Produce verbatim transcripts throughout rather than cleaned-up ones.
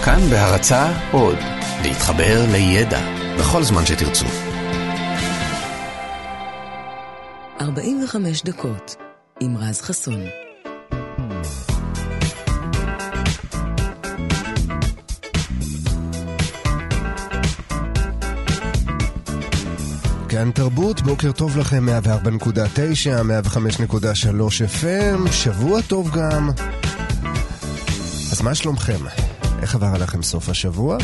כאן בהרצאה עוד, להתחבר לידע בכל זמן שתרצו. ארבעים וחמש דקות עם רז חסון. כאן תרבות, בוקר טוב לכם, מאה וארבע נקודה תשע, מאה וחמש נקודה שלוש אף אם, שבוע טוב גם. אז מה שלומכם? איך עבר עליכם סוף השבוע?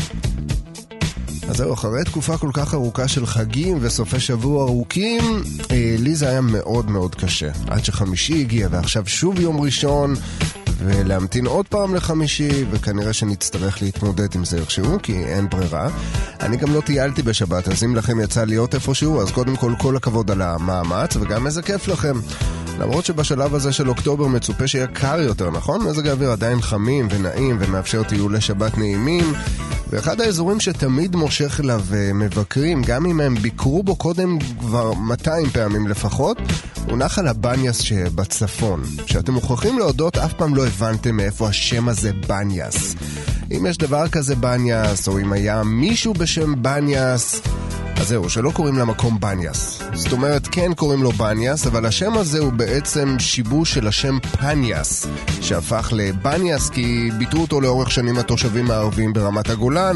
אז זהו, אחרי תקופה כל כך ארוכה של חגים וסופי שבוע ארוכים, אה, לי זה היה מאוד מאוד קשה. עד שחמישי הגיע ועכשיו שוב יום ראשון, ולהמתין עוד פעם לחמישי, וכנראה שנצטרך להתמודד עם זה איכשהו, כי אין ברירה. אני גם לא טיילתי בשבת, אז אם לכם יצא להיות איפשהו, אז קודם כל כל הכבוד על המאמץ, וגם איזה כיף לכם. למרות שבשלב הזה של אוקטובר מצופה שיהיה קר יותר, נכון? מזג האוויר עדיין חמים ונעים ומאפשר טיולי שבת נעימים, ואחד האזורים שתמיד מושך אליו מבקרים, גם אם הם ביקרו בו קודם כבר מאתיים פעמים לפחות, הוא נחל הבניאס שבצפון. שאתם מוכרחים להודות, אף פעם לא הבנתם מאיפה השם הזה בניאס. אם יש דבר כזה בניאס, או אם היה מישהו בשם בניאס, אז זהו, שלא קוראים למקום בניאס. זאת אומרת, כן קוראים לו בניאס, אבל השם הזה הוא בעצם שיבוש של השם פניאס, שהפך לבניאס כי ביטרו אותו לאורך שנים התושבים הערבים ברמת הגולן,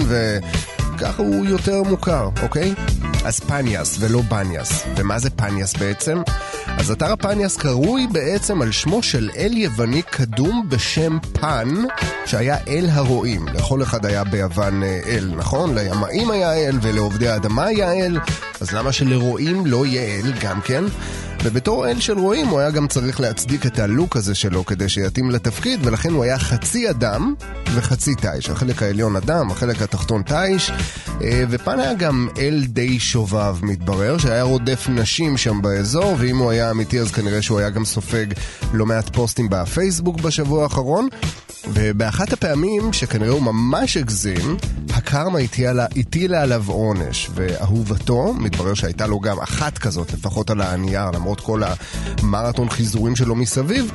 וככה הוא יותר מוכר, אוקיי? אז פניאס ולא בניאס. ומה זה פניאס בעצם? אז אתר הפניאס קרוי בעצם על שמו של אל יווני קדום בשם פן, שהיה אל הרועים. לכל אחד היה ביוון אל, נכון? לימאים היה אל ולעובדי האדמה היה אל, אז למה שלרועים לא יהיה אל גם כן? ובתור אל של רועים הוא היה גם צריך להצדיק את הלוק הזה שלו כדי שיתאים לתפקיד, ולכן הוא היה חצי אדם וחצי תיש. החלק העליון אדם, החלק התחתון תיש, ופן היה גם אל די שובב מתברר, שהיה רודף נשים שם באזור, ואם הוא היה אמיתי אז כנראה שהוא היה גם סופג לא מעט פוסטים בפייסבוק בשבוע האחרון, ובאחת הפעמים שכנראה הוא ממש הגזים, הקרמה הטילה עליו עונש, ואהובתו, מתברר שהייתה לו גם אחת כזאת, לפחות על הנייר, למרות כל המרתון חיזורים שלו מסביב,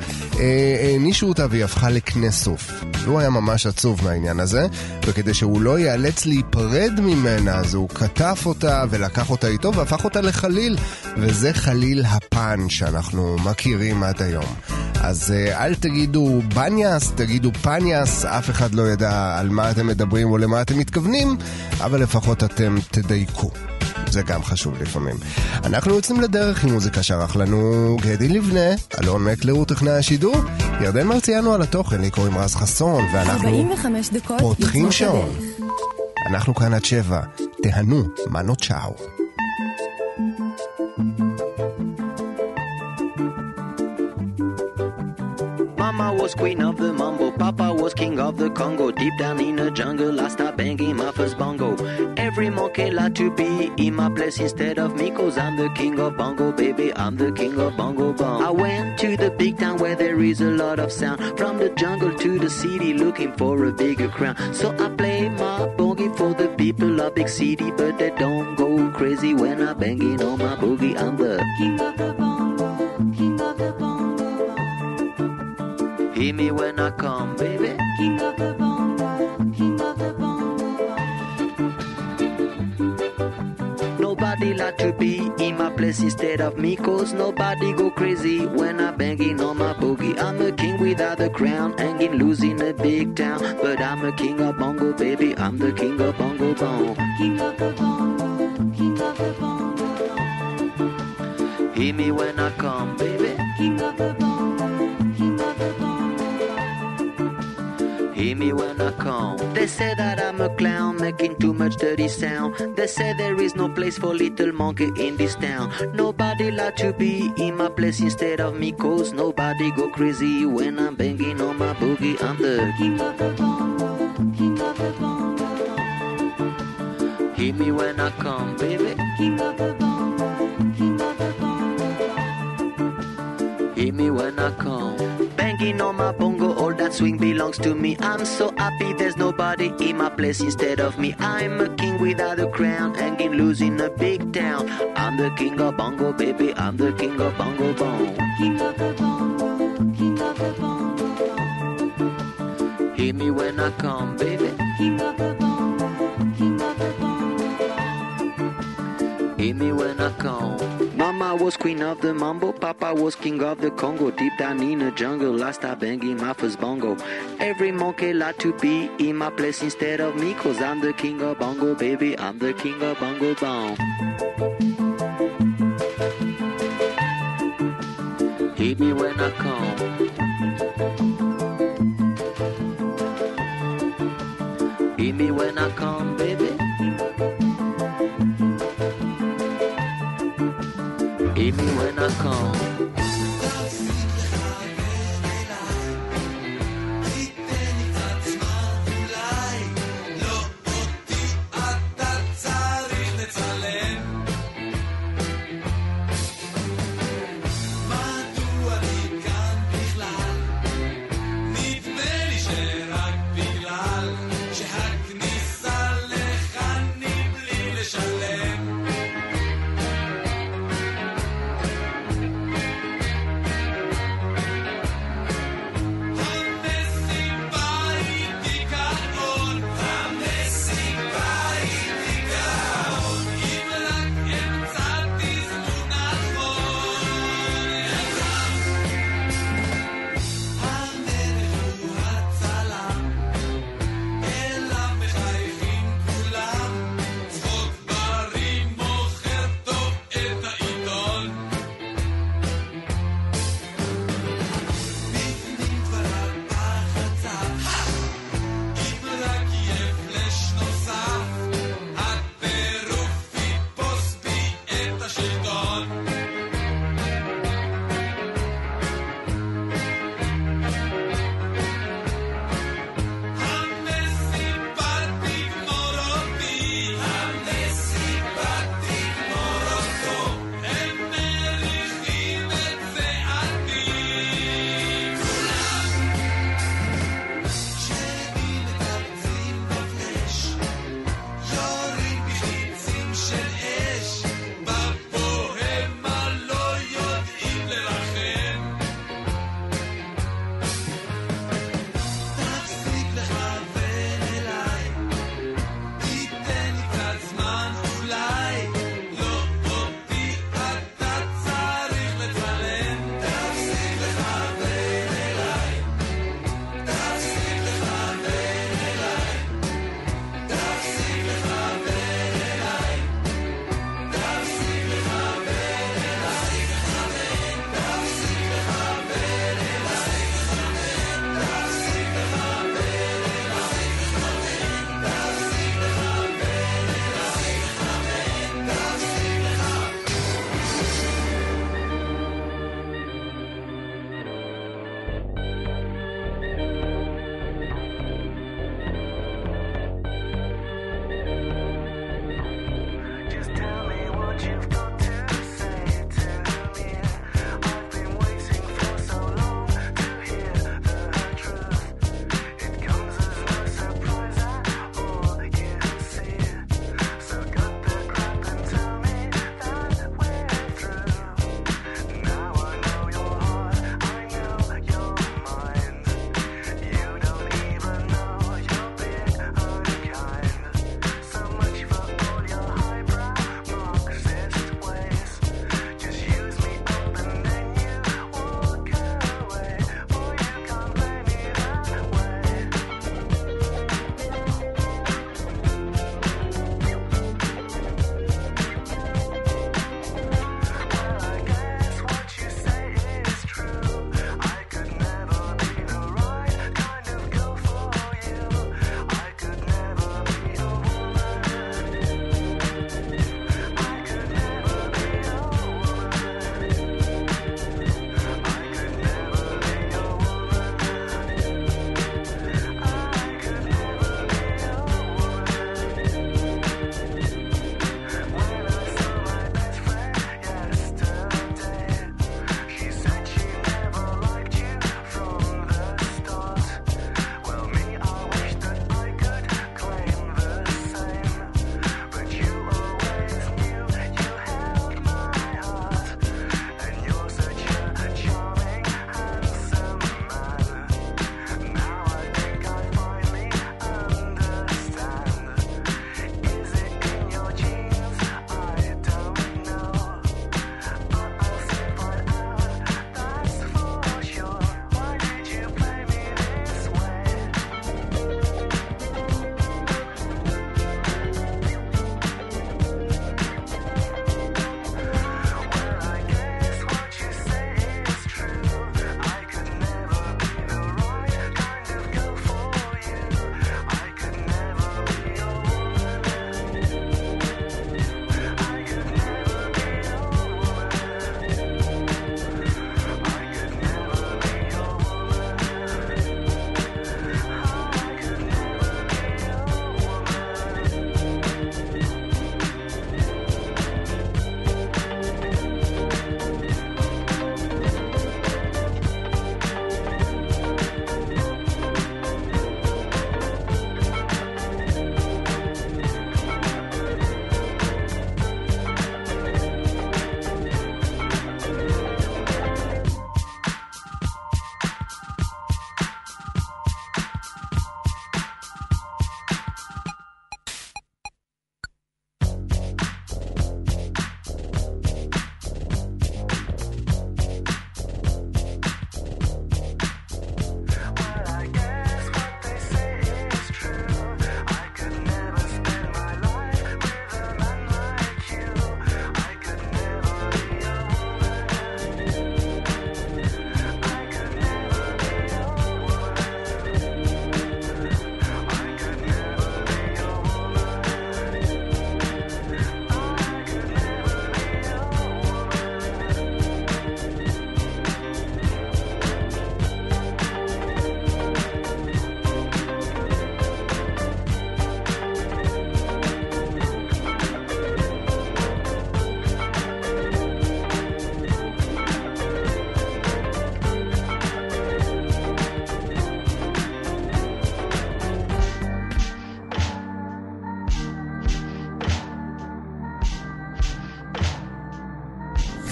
הענישו אותה והיא הפכה לכנסוף. הוא היה ממש עצוב מהעניין הזה, וכדי שהוא לא ייאלץ להיפרד ממנה, אז הוא כתף אותה ולקח אותה איתו והפך אותה לחליל, וזה חליל הפן שאנחנו מכירים עד היום. אז אל תגידו בניאס, תגידו פניאס, אף אחד לא ידע על מה אתם מדברים או למה אתם מתכוונים, אבל לפחות אתם תדייקו. זה גם חשוב לפעמים. אנחנו יוצאים לדרך עם מוזיקה שערך לנו גדי לבנה, אלון מקלר הוא טכנאי השידור, ירדן מרציאנו על התוכן, לי קוראים רז חסון, ואנחנו פותחים שעון. אנחנו כאן עד שבע, תהנו, מנו צ'או. Mama was queen of the mambo, Papa was king of the Congo. Deep down in the jungle, I start banging my first bongo. Every monkey like to be in my place instead of me, cause I'm the king of bongo, baby, I'm the king of bongo bong. I went to the big town where there is a lot of sound, from the jungle to the city looking for a bigger crown. So I play my boogie for the people of big city, but they don't go crazy when I'm banging on my boogie. I'm the king of the bongo, king of the bongo. Hear me when I come, baby. King of the bongo, king of the bongo. Nobody like to be in my place instead of me, cause nobody go crazy when I'm banging on my boogie. I'm a king without a crown, hanging loose in a big town, but I'm a king of bongo, baby. I'm the king of bongo bong. King of the bongo, king of the bongo. Hear me when I come, baby. King of the bongo, king of the bongo. Hear me when I come. They say that I'm a clown making too much dirty sound. They say there is no place for little monkey in this town. Nobody like to be in my place instead of me, cause nobody go crazy when I'm banging on my boogie. I'm the king of the bongo, king of the bongo. Hear me when I come, baby. King of the bongo, king of the bongo. Hear me when I come. Banging on my bongo, all that swing belongs to me. I'm so happy there's nobody in my place instead of me. I'm a king without a crown, hanging loose in a big town. I'm the king of bongo, baby, I'm the king of bongo bong. King of the bongo, king of the bongo. Hear me when I come, baby. King of was queen of the mambo, Papa was king of the Congo. Deep down in the jungle, I start banging my first bongo. Every monkey like to be in my place instead of me, cause I'm the king of bongo, baby, I'm the king of bongo bong. Hit me when I come. Hit me when I come, baby. Hit me when I come.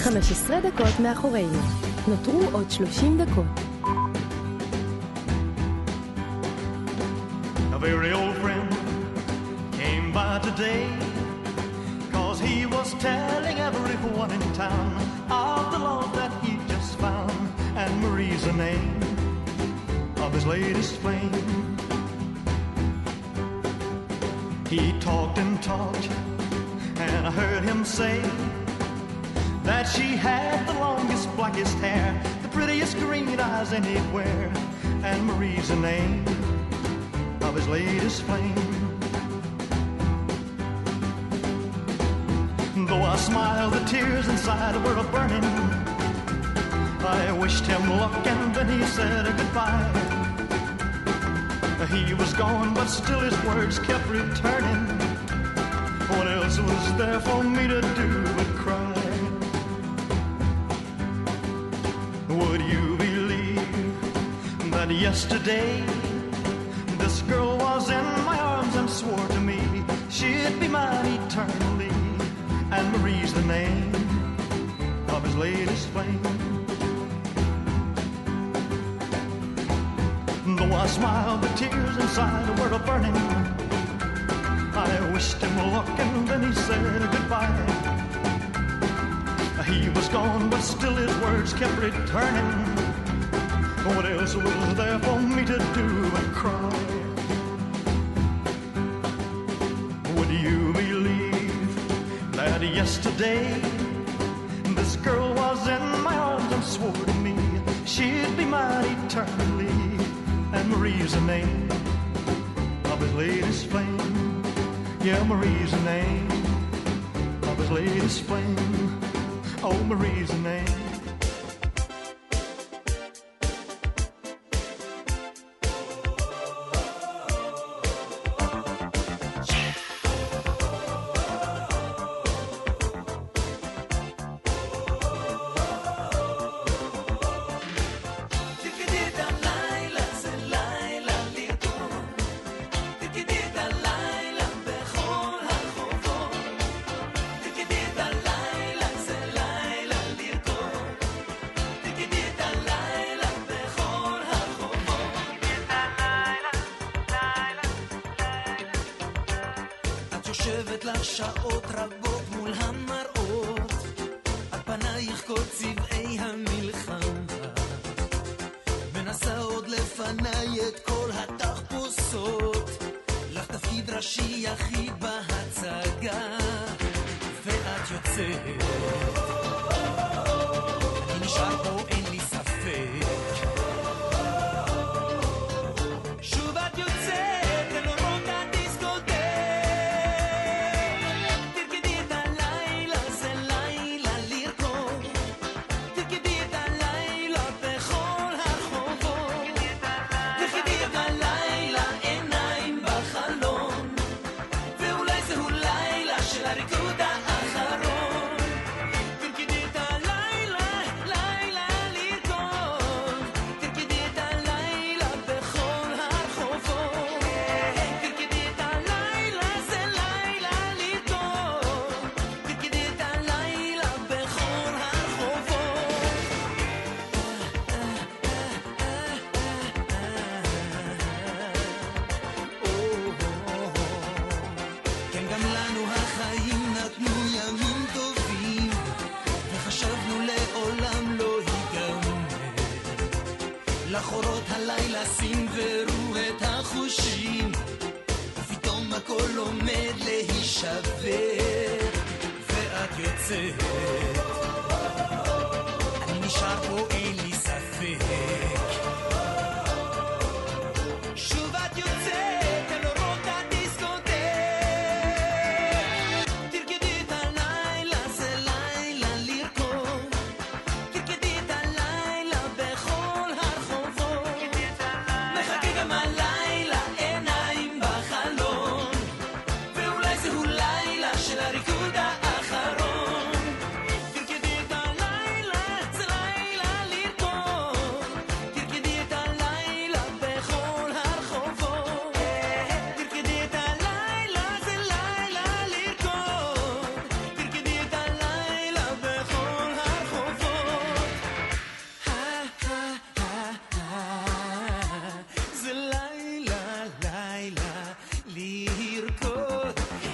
חמש עשרה דקות מאחורינו. נותרו עוד שלושים דקות. A very old friend came by today, cause he was telling everyone in town of the love that he just found, and Marie's the name of his latest flame. He talked and talked, and I heard him say that she had the longest, blackest hair, the prettiest green eyes anywhere, and Marie's the name of his latest flame. Though I smiled, the tears inside were a-burning. I wished him luck and then he said goodbye. He was gone, but still his words kept returning. What else was there for me to do but cry? Would you believe that yesterday this girl was in my arms and swore to me she'd be mine eternally, and Marie's the name of his latest flame. Though I smiled, the tears inside were a-burning. I wished him luck and then he said goodbye. He was gone, but still his words kept returning. What else was there for me to do but cry? Would you believe that yesterday this girl was in my arms and swore to me she'd be mine eternally, and Marie's the name of his latest flame. Yeah, Marie's the name of his latest flame. Oh, Marie's the name. יושבת לך שעות רבות מול המראות, על פנייך כל צבעי המלחמה, מנסה עוד לפניי את כל התחפושות, לך תפקיד ראשי יחיד בהצגה, ואת יוצאת, אני נשאר פה אין לי ספק, שוב את יוצאת לחורות הלילה סינברו את החושים, ופתאום הכל עומד להישבר, ואת יוצאת, אני נשאר פה אין לי ספק, שוב את יוצאת אל אורות הדיסקוטק, תרקדי את הלילה, זה לילה לרקוד, תרקדי את הלילה בכל הרחובות, מחכה גם הלילה עיניים בחלון, ואולי זהו לילה של הריקוד האחרון, לרקוד.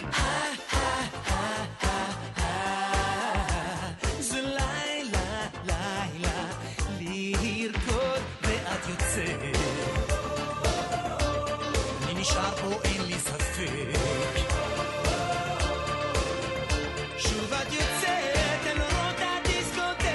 זה לילה, לילה, לרקוד ואת יוצאת. אני נשאר פה, אין לי ספק. שוב את יוצאת אל אורות הדיסקוטק.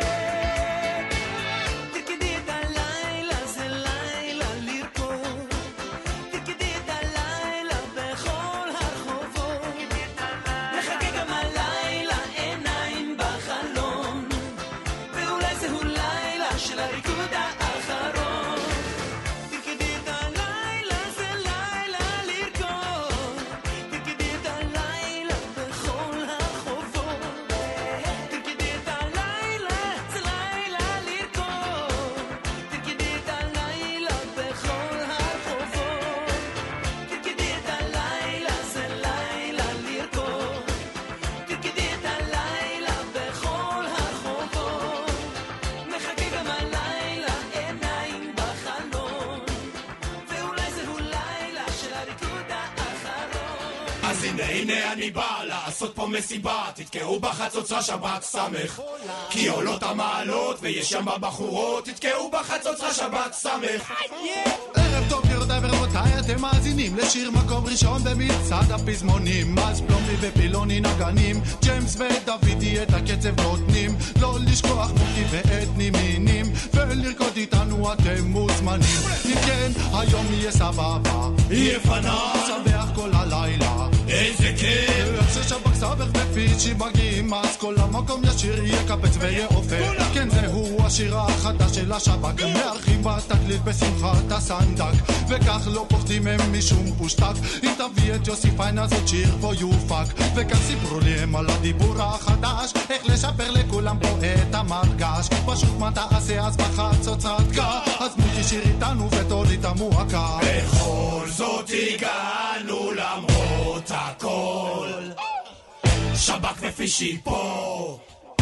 תרקדי את הלילה, זה לילה לרקוד. תרקדי את הלילה בכל הרחובות. מחכה גם הלילה, עיניים בחלום. ואולי זהו לילה של הריקוד האחרון. תרקדי את הלילה, זה לילה לרקוד. תרקדי את הלילה בכל הרחובות. תרקדי את הלילה, זה לילה לרקוד. תרקדי את הלילה בכל הרחובות. תרקדי את הלילה, זה לילה לרקוד. תרקדי את הלילה בכל הרחובות. מחכה גם הלילה, עיניים בחלון. ואולי זהו לילה של הריקוד האחרון. אז הנה הנה אני בא לעשות פה מסיבה, תתקעו בחצוצרה שבת סמך, כי עולות המעלות ויש שם בבחורות, תתקעו בחצוצרה שבת סמך. ערב טוב גבירותיי ורבותיי, אתם מאזינים לשיר מקום ראשון במצעד הפזמונים. אז פלומבי ופילוני נגנים, ג'יימס ודוידי את הקצב נותנים. לא לשכוח מוקי ואתני מינים, ולרקוד איתנו אתם מוזמנים. אם כן, היום יהיה סבבה, יהיה פנן, נשמח כל הלילה. איזה כיף, איך ששבק סבך ופיצ'י מגיעים, אז כל המקום ישיר יקפץ ויעופר. כן, זהו השיר החדש של השבק, מארחים בתקליט בשמחת הסנדק, וכך לא פוחדים הם משום פושטק. אם תביא את יוסי פיין אז עוד שיר פה יופק, וכך סיפרו לי הם על הדיבור החדש, איך לשפר לכולם פה את המרגש. פשוט מה תעשה אז בחצוצרת קה, אז מוקי שיר איתנו ותוריד המועקה. בכל זאת הגענו למרות הכל, שבק ופישי פה.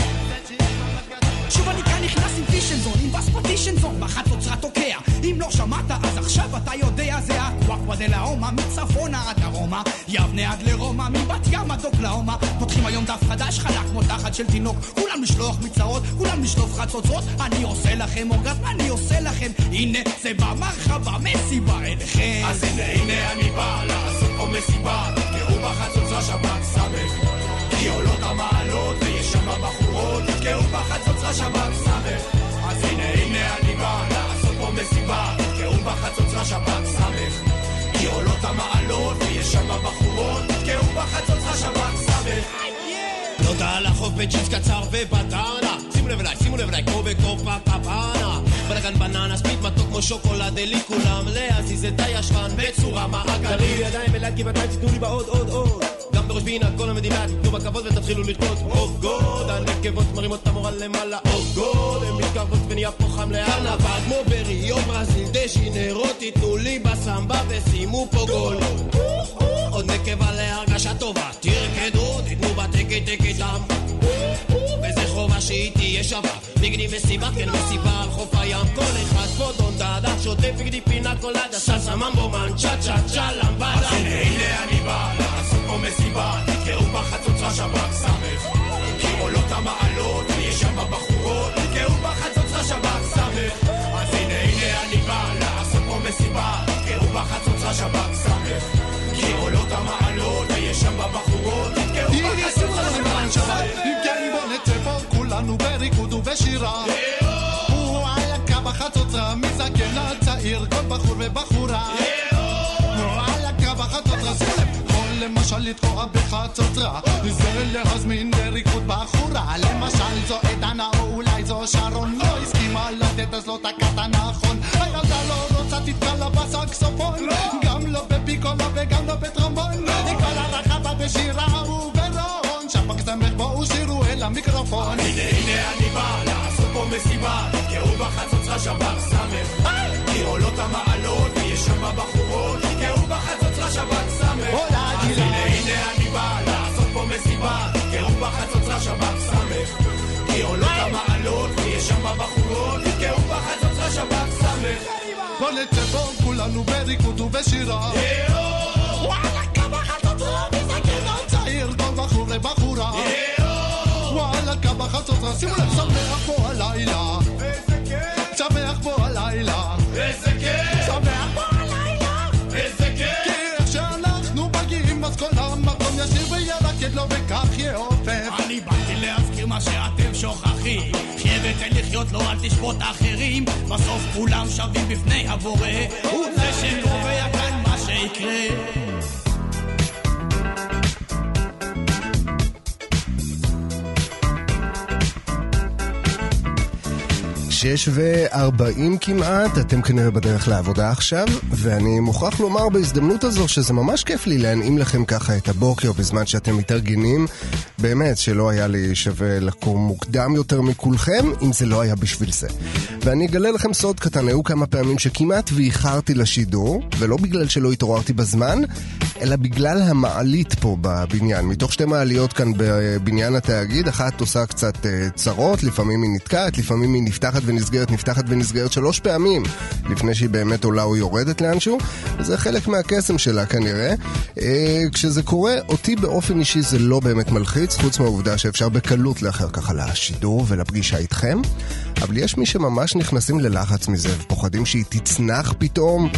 שוב אני כאן נכנס עם פישנזון, עם בספוטישנזון, בחצוצרה תוקע. אם לא שמעת אז עכשיו אתה יודע, זה הקוואקווה דלאומה, מצפונה עד דרומה, יבנה עד לרומא, מבת ים עד אוקלאומה. פותחים היום דף חדש, חלק כמו תחת של תינוק, כולם לשלוח מצרות, כולם לשלוף חצוצרות. אני עושה לכם אורגזם, אני עושה לכם, הנה זה במרחבה, מסיבה אליכם. אז הנה הנה אני בא לעשות פה מסיבה, תתקעו בחצוצרה שבת סמך, כי עולות המעלות ויש שם בחורות, תתקעו בחצוצרה שבת סמך. אז הנה הנה אני בא לעשות פה מסיבה, תתקעו בחצוצרה שבת סמך, כי עולות המעלות ויש שם בחורות, תתקעו בחצוצרה שבת סמך. תודה על החוף בג'ינס קצר ובטרנה, שימו לב אליי, שימו לב אליי, כמו בקופה פפנה, בלגן בננה, ספיד מתוק כמו שוקולד, אלי כולם להזיז את הישרן בצורה מעגלית. תרימו לי ידיים ולעד גבעתיים, תתנו לי בעוד עוד עוד, גם בראש בינה כל המדינה, תתנו בכבוד ותתחילו לרקוד. אוף גוד, הנקבות מרימות את המורה למעלה, אוף גוד, הן מתקרבות ונהיה פה חם לארנבה, כמו בריו ברזיל דז'ינרו, תתנו לי בסמבה ושימו פה גול. עוד נקבה להרגשה טובה, תרקדו, תתנו בתקי תקי דם, וזה חובה שהיא תהיה שווה, בגדי מסיבה, כן מסיבה על חוף הים. כל אחד פה דון דאדה, שוטף בגדי פינה קולדה, סלסה ממבו מן צ'ה צ'ה צ'ה למבדה. אז הנה הנה אני בא לעשות פה מסיבה, תתקעו בחצוצרה שבת סמך, כי עולות המעלות ויש שם בחורות, תתקעו בחצוצרה שבת סמך. אז הנה הנה אני בא לעשות פה מסיבה, תתקעו בחצוצרה שבת סמך, כי עולות המעלות ויש שם בחורות, תתקעו בחצוצרה שבת סמך. אם כן בוא נצא פה כולנו בריקוד ובשירה, הוא על הקו החצוצרה, מזקן עד צעיר, כל בחור ובחורה, הוא על הקו החצוצרה, שימו לב, יכול למשל לתקוע בחצוצרה, זה להזמין לריקוד בחורה, למשל זו עדנה או אולי זו שרון, לא הסכימה לתת אז לא תקעת נכון, הילדה לא רוצה תתקע לה בסקסופון, גם לא בפיקולה וגם לא בטרומבון, כל הרחבה בשירה וברון, שבק סמך בואו שירו אל המיקרופון. הנה הנה אני בא לעשות פה מסיבה, תתקעו בחצוצרה שבת סמך, כי עולות המעלות ויש שם בחורות, תתקעו בחצוצרה שבת סמך. אז הנה הנה אני בא לעשות פה מסיבה, תתקעו בחצוצרה שבת סמך, כי עולות המעלות ויש שם בחורות, תתקעו בחצוצרה שבת סמך. בוא נצא פה כולנו בריקוד ובשירה, מה שאתם שוכחים. חיה ותן לחיות לו, אל תשפוט אחרים, בסוף כולם שווים בפני הבורא, הוא זה שקובע כאן מה שיקרה. שש וארבעים כמעט, אתם כנראה בדרך לעבודה עכשיו, ואני מוכרח לומר בהזדמנות הזו שזה ממש כיף לי להנעים לכם ככה את הבוקר בזמן שאתם מתארגנים. באמת שלא היה לי שווה לקום מוקדם יותר מכולכם אם זה לא היה בשביל זה. ואני אגלה לכם סוד קטן, היו כמה פעמים שכמעט ואיחרתי לשידור, ולא בגלל שלא התעוררתי בזמן, אלא בגלל המעלית פה בבניין. מתוך שתי מעליות כאן בבניין התאגיד, אחת עושה קצת צרות, לפעמים היא נתקעת, לפעמים היא נפתחת ונסגרת, נפתחת ונסגרת שלוש פעמים לפני שהיא באמת עולה או יורדת לאנשהו, וזה חלק מהקסם שלה כנראה. כשזה קורה, אותי באופן אישי זה לא באמת מלחיץ, חוץ מהעובדה שאפשר בקלות לאחר ככה לשידור ולפגישה איתכם, אבל יש מי שממש נכנסים ללחץ מזה ופוחדים שהיא תצנח פתאום.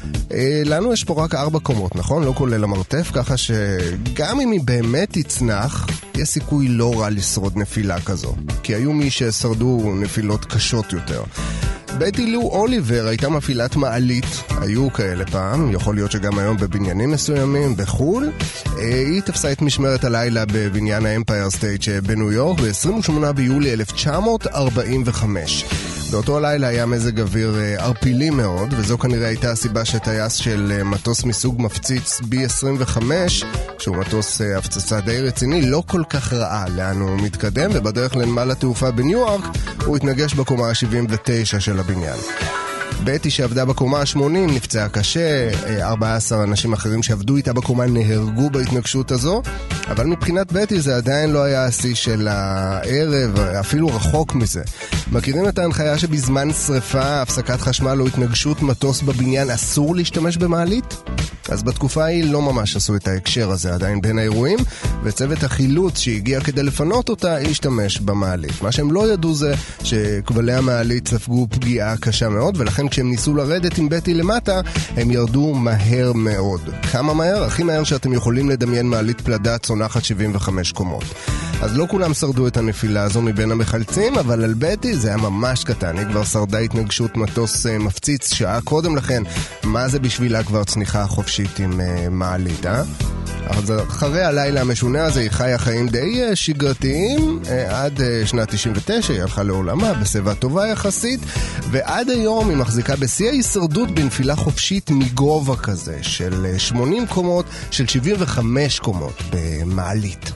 לנו יש פה רק ארבע קומות, נכון? לא כולל המרתף, ככה שגם אם היא באמת תצנח, יש סיכוי לא רע לשרוד נפילה כזו, כי היו מי ששרדו נפילות קשות יותר. בטי לו אוליבר הייתה מפעילת מעלית, היו כאלה פעם, יכול להיות שגם היום בבניינים מסוימים בחול. היא תפסה את משמרת הלילה בבניין האמפייר סטייט בניו יורק ב-עשרים ושמונה ביולי אלף תשע מאות ארבעים וחמש. באותו הלילה היה מזג אוויר ערפילי מאוד, וזו כנראה הייתה הסיבה שטייס של מטוס מסוג מפציץ בי עשרים וחמש, שהוא מטוס הפצצה די רציני, לא כל כך ראה לאן הוא מתקדם, ובדרך לנמל התעופה בניו יורק הוא התנגש בקומה ה-שבעים ותשע של הבניין. בטי שעבדה בקומה ה-שמונים נפצעה קשה, ארבעה עשר אנשים אחרים שעבדו איתה בקומה נהרגו בהתנגשות הזו, אבל מבחינת בטי זה עדיין לא היה השיא של הערב, אפילו רחוק מזה. מכירים את ההנחיה שבזמן שריפה, הפסקת חשמל או התנגשות מטוס בבניין אסור להשתמש במעלית? אז בתקופה היא לא ממש עשו את ההקשר הזה עדיין בין האירועים, וצוות החילוץ שהגיע כדי לפנות אותה השתמש במעלית. מה שהם לא ידעו זה שכבלי המעלית ספגו פגיעה קשה מאוד, ולכן כשהם ניסו לרדת עם בטי למטה, הם ירדו מהר מאוד. כמה מהר? הכי מהר שאתם יכולים לדמיין מעלית פלדה צונחת שבעים וחמש קומות. אז לא כולם שרדו את הנפילה הזו מבין המחלצים, אבל על בטי זה היה ממש קטן. היא כבר שרדה התנגשות מטוס מפציץ שעה קודם לכן. מה זה בשבילה כבר צניחה חופשית עם מעלית, אה? אז אחרי הלילה המשונה הזה היא חיה חיים די שגרתיים עד שנת תשעים ותשע, היא הלכה לעולמה בסביבה טובה יחסית, ועד היום היא מחזיקה בשיא ההישרדות בנפילה חופשית מגובה כזה של שמונים קומות, של שבעים וחמש קומות במעלית.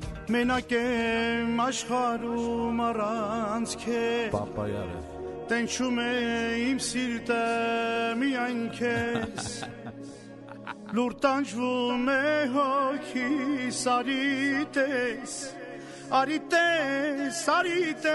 מנקם אשחרו מרנץ כפאפה יאללה תנשומה עם סילטה מיינקס לורטנשבו מהוקי סריטס אריטס אריטס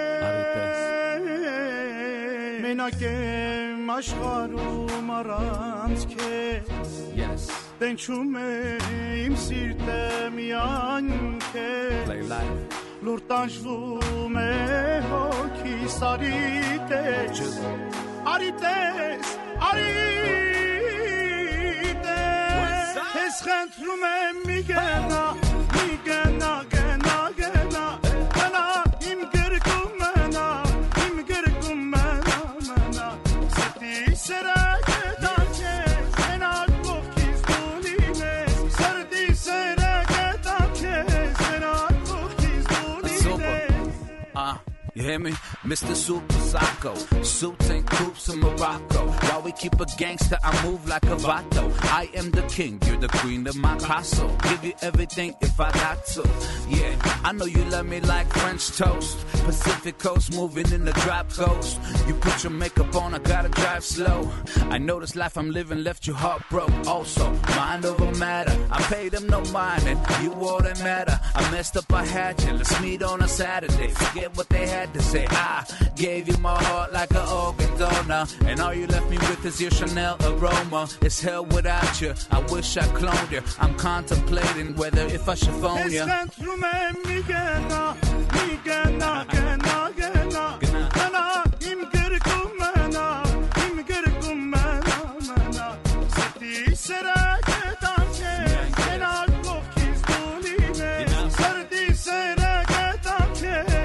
מנקם אשחרו מרנץ כפאפה תנשומה עם סילטה מיינקס לורטנשבו מהוקי סריטס אריטס אריטס اسخن رومه میگنا میگنا گنا گنا انا امگرکم منا امگرکم منا منا ستی سرکتاچه انا کوکیز دونیمه سردی سرکتاچه انا کوکیز دونیمه ah you hear me Mister Super Psycho suits and coops in Morocco while we keep a gangster I move like a vato I am the king you're the queen of my castle give you everything if I got to yeah I know you love me like French toast Pacific coast moving in the drop coast you put your makeup on I gotta drive slow I know this life I'm living left you heartbroken also mind over matter I paid them no mind and you all that matter I messed up I had you let's meet on a Saturday forget what they had to say I gave you my heart like an organ donor and all you left me with is your Chanel aroma it's hell without you I wish I cloned you I'm contemplating whether if I should phone you Sardi sera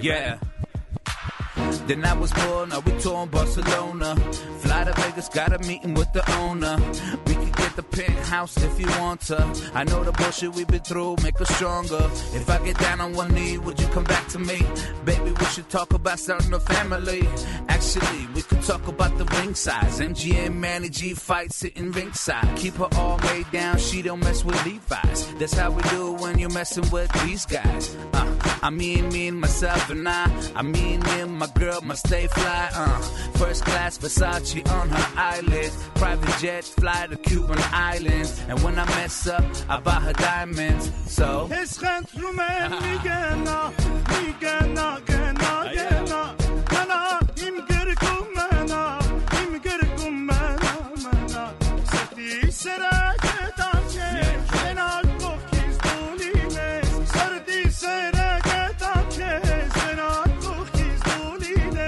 Yeah. Then I was born, now we touring Barcelona. Fly to Vegas, got a meeting with the owner. We could get the penthouse if you want to. I know the bullshit we've been through, make us stronger. If I get down on one knee, would you come back to me? Baby, we should talk about starting a family. Actually, we could talk about the ring size. M G M, Manny G fight sitting ringside. Keep her all made down, she don't mess with Levi's. That's how we do when you're messing with these guys. Uh, I mean, me and myself and I. I mean, me and my girl must stay fly. Uh, first class Versace on her eyelids. Private jet, fly to Cuban islands. And when I mess up, I buy her diamonds. So Eschent rumen migena, migena, gena, gena. Mana im gerkum mana, im gerkum mana, mana. Seti serake tache, enal kokis doline. Sardi serake tache, enal kokis doline.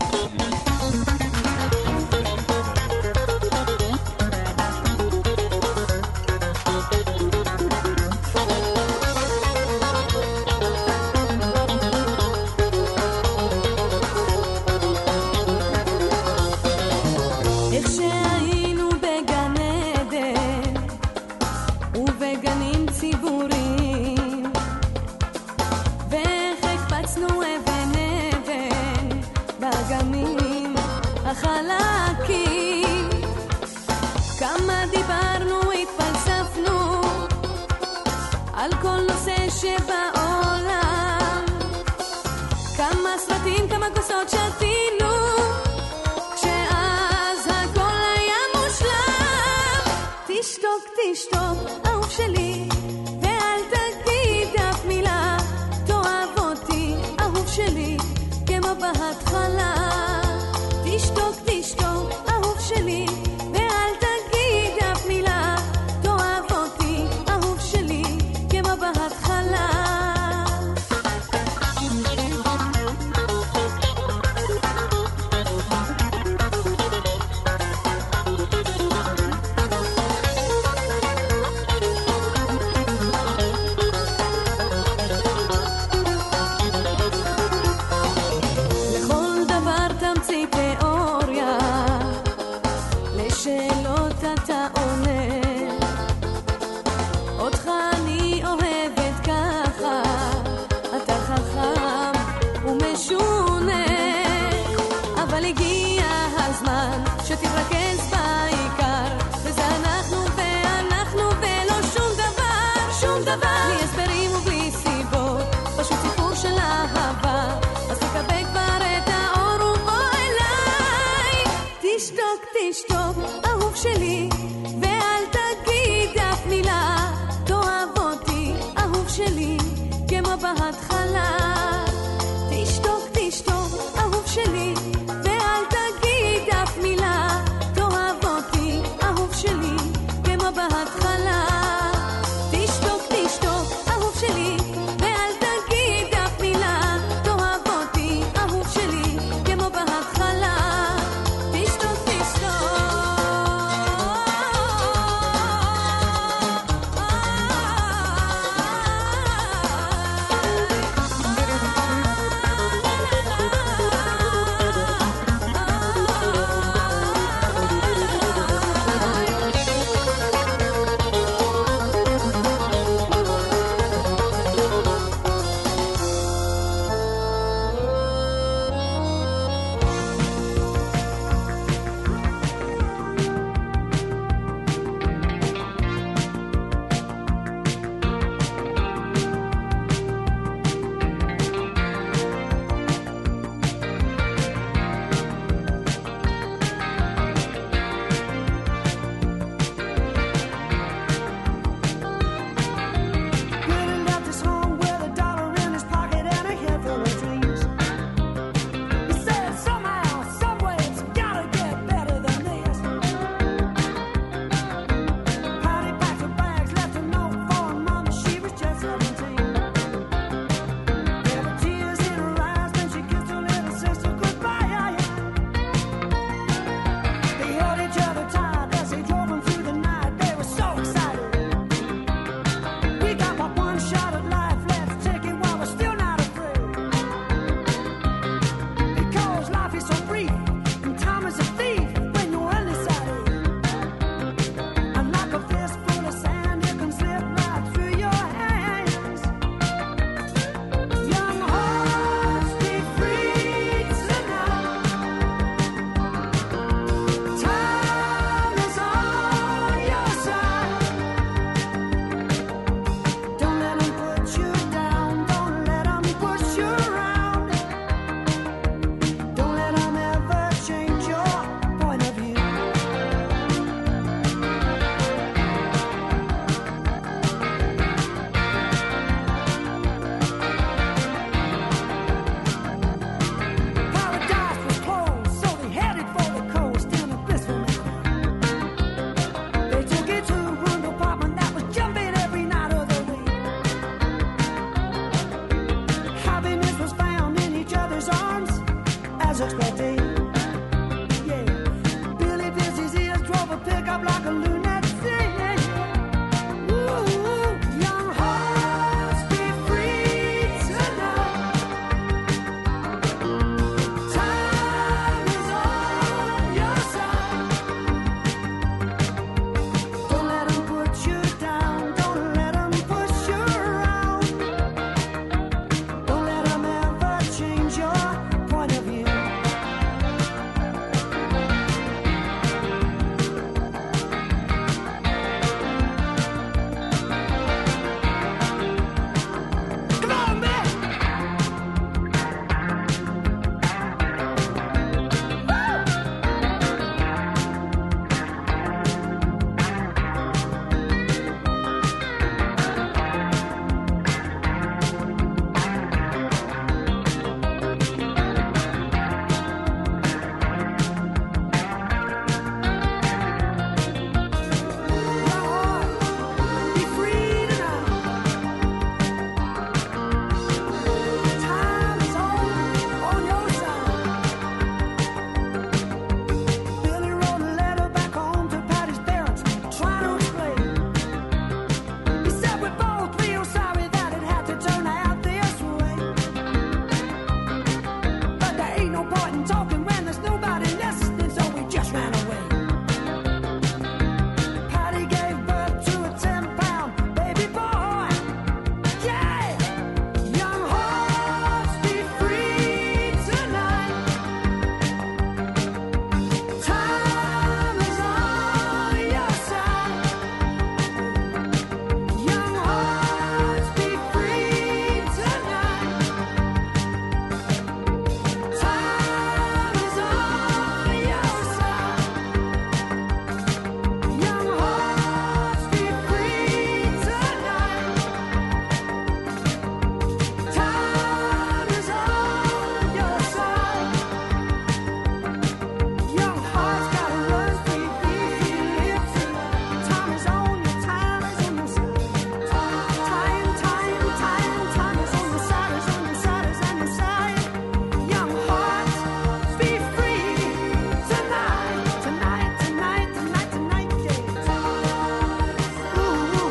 איך שהיינו בגן עדן ובגנים ציבוריים ואיך הקפצנו אבן אבן באגמים החלקים כמה דיברנו התפלספנו על כל נושא שבעולם כמה סרטים כמה כוסות שתינו תשתוק, תשתוק, אהוב שלי, ואל תגיד אף מילה. תאהב אותי, אהוב שלי, כמו בהתחלה. תשתוק, תשתוק, אהוב שלי, ואל תגיד אף מילה. תאהב אותי, אהוב שלי, כמו בהתחלה. שתתרכז בעיקר וזה אנחנו ואנחנו ולא שום דבר שום דבר בלי הסברים ובלי סיבות פשוט סיפור של אהבה אז תקבל כבר את האור ובוא אליי תשתוק תשתוק אהוב שלי ואל תגיד אף מילה תאהב אותי אהוב שלי כמו בהתחלה תשתוק תשתוק אהוב שלי ואל תגיד אף מילה תאהב אותי אהוב שלי כמו בהתחלה תשתוק תשתוק אהוב שלי ואל תגיד אף מילה תאהב אותי אהוב שלי כמו בהתחלה תשתוק תשתוק like a lunatic. Ooh, young hearts be free tonight. Time is on your side. Don't let them put you down. Don't let them push you around. Don't let them ever change your point of view. Come on, man! Be free tonight. Time is on, on your side. Billy wrote a letter back home to Patty's parents, trying to explain. He said we're both real sorry that it had to turn out this way. But there ain't no point in talking when there's nobody listening, so we just ran away. Patty gave birth to a ten-pound baby boy. Yeah! Young hearts be free tonight. Time is on your side. Young hearts be free tonight. Time is on your side. Young hearts be free tonight. Time is on your side. Young hearts gotta run free, be free, live tonight. Time is on your, time is on your side. Time, time, time, time is on your side, is on your side, is on your side. Young hearts be free tonight, tonight, tonight, tonight, tonight, yeah. Ooh, ooh,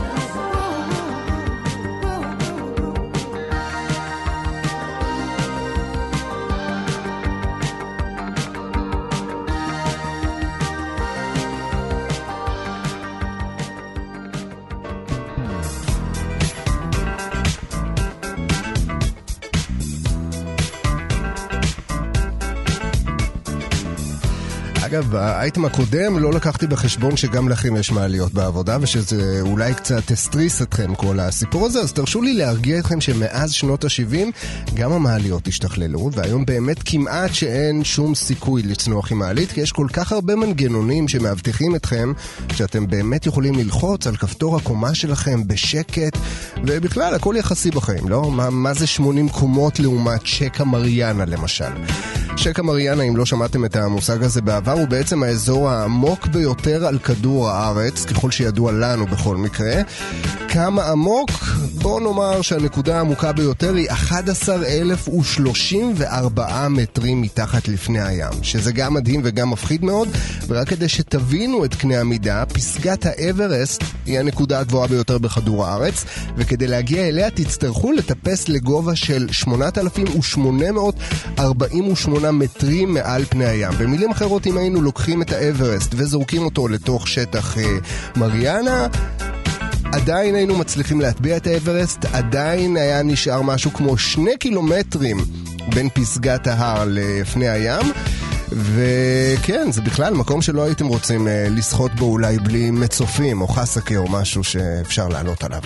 אגב, האייטם הקודם לא לקחתי בחשבון שגם לכם יש מעליות בעבודה, ושזה אולי קצת הסטריס אתכם כל הסיפור הזה, אז תרשו לי להרגיע אתכם שמאז שנות ה-שבעים גם המעליות השתכללו, והיום באמת כמעט שאין שום סיכוי לצנוח עם מעלית, כי יש כל כך הרבה מנגנונים שמאבטחים אתכם, שאתם באמת יכולים ללחוץ על כפתור הקומה שלכם בשקט, ובכלל הכל יחסי בחיים, לא? מה, מה זה שמונים קומות לעומת שקע מריאנה למשל? שקע מריאנה, אם לא שמעתם את המושג הזה בעבר, הוא בעצם האזור העמוק ביותר על כדור הארץ, ככל שידוע לנו בכל מקרה. כמה עמוק? בוא נאמר שהנקודה העמוקה ביותר היא אחד עשר אלף ושלושים וארבעה מטרים מתחת לפני הים, שזה גם מדהים וגם מפחיד מאוד, ורק כדי שתבינו את קנה המידה, פסגת האברסט היא הנקודה הגבוהה ביותר בכדור הארץ, וכדי להגיע אליה תצטרכו לטפס לגובה של שמונת אלפים ושמונה מאות ארבעים ושמונה מטרים מעל פני הים. במילים אחרות, אם היינו לוקחים את האברסט וזורקים אותו לתוך שטח אה, מריאנה, עדיין היינו מצליחים להטביע את האברסט, עדיין היה נשאר משהו כמו שני קילומטרים בין פסגת ההר לפני הים, וכן, זה בכלל מקום שלא הייתם רוצים אה, לשחות בו אולי בלי מצופים או חסקה או משהו שאפשר לעלות עליו.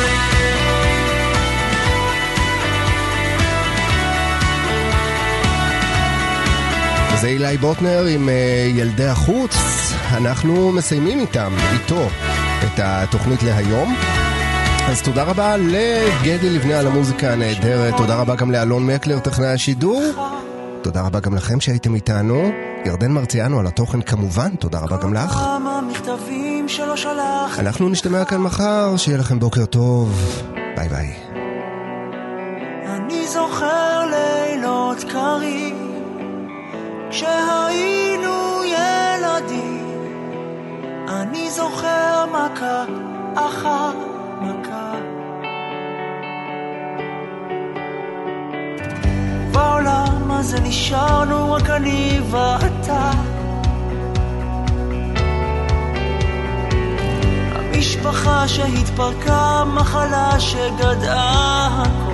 זה אילי בוטנר עם ילדי החוץ. אנחנו מסיימים איתם, איתו, את התוכנית להיום. אז תודה רבה לגדי לבנה על המוזיקה הנהדרת, תודה רבה גם לאלון מקלר, טכנאי השידור, תודה רבה גם לכם שהייתם איתנו, ירדן מרציאנו על התוכן כמובן, תודה רבה גם לך. אנחנו נשתמע כאן מחר, שיהיה לכם בוקר טוב, ביי ביי. אני זוכר לילות קרים כשהיינו ילדים, אני זוכר מכה אחר מכה. בעולם הזה נשארנו רק אני ואתה, המשפחה שהתפרקה, מחלה שגדעה,